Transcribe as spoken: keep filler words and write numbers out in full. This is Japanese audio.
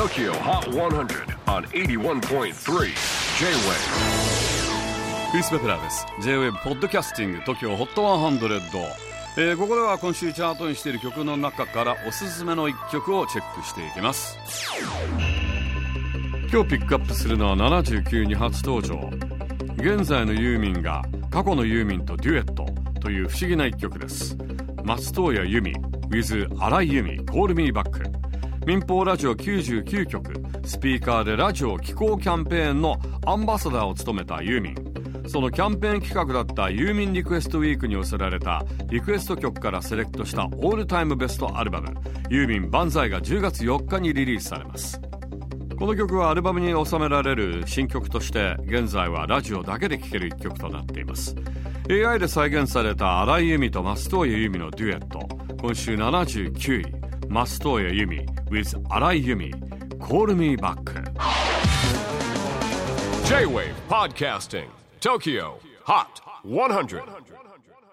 Tokyo Hot one hundred on エイティワンポイントスリー J-Wave。 クリス・ベプラーです。 J-Wave ポッドキャスティング Tokyo Hot ひゃく、えー、ここでは今週チャートにしている曲の中からおすすめのいっきょくをチェックしていきます。今日ピックアップするのはななじゅうきゅうに初登場、現在のユーミンが過去のユーミンとデュエットという不思議ないっきょくです。松任谷由実 with 荒井由実 Call Me Back。 民放ラジオきゅうじゅうきゅうきょく、スピーカーでラジオ寄稿キャンペーンのアンバサダーを務めたユーミン。そのキャンペーン企画だったユーミンリクエストウィークに寄せられたリクエスト曲からセレクトしたオールタイムベストアルバムユーミン万歳がじゅうがつよっかにリリースされます。この曲はアルバムに収められる新曲として現在はラジオだけで聴けるいっきょくとなっています。 エーアイ で再現された荒井由実と松任谷由実のデュエット、今週ななじゅうきゅうい、松任谷由実 with 荒井由実 Call Me Back。 J-Wave Podcasting Tokyo Hot ひゃく。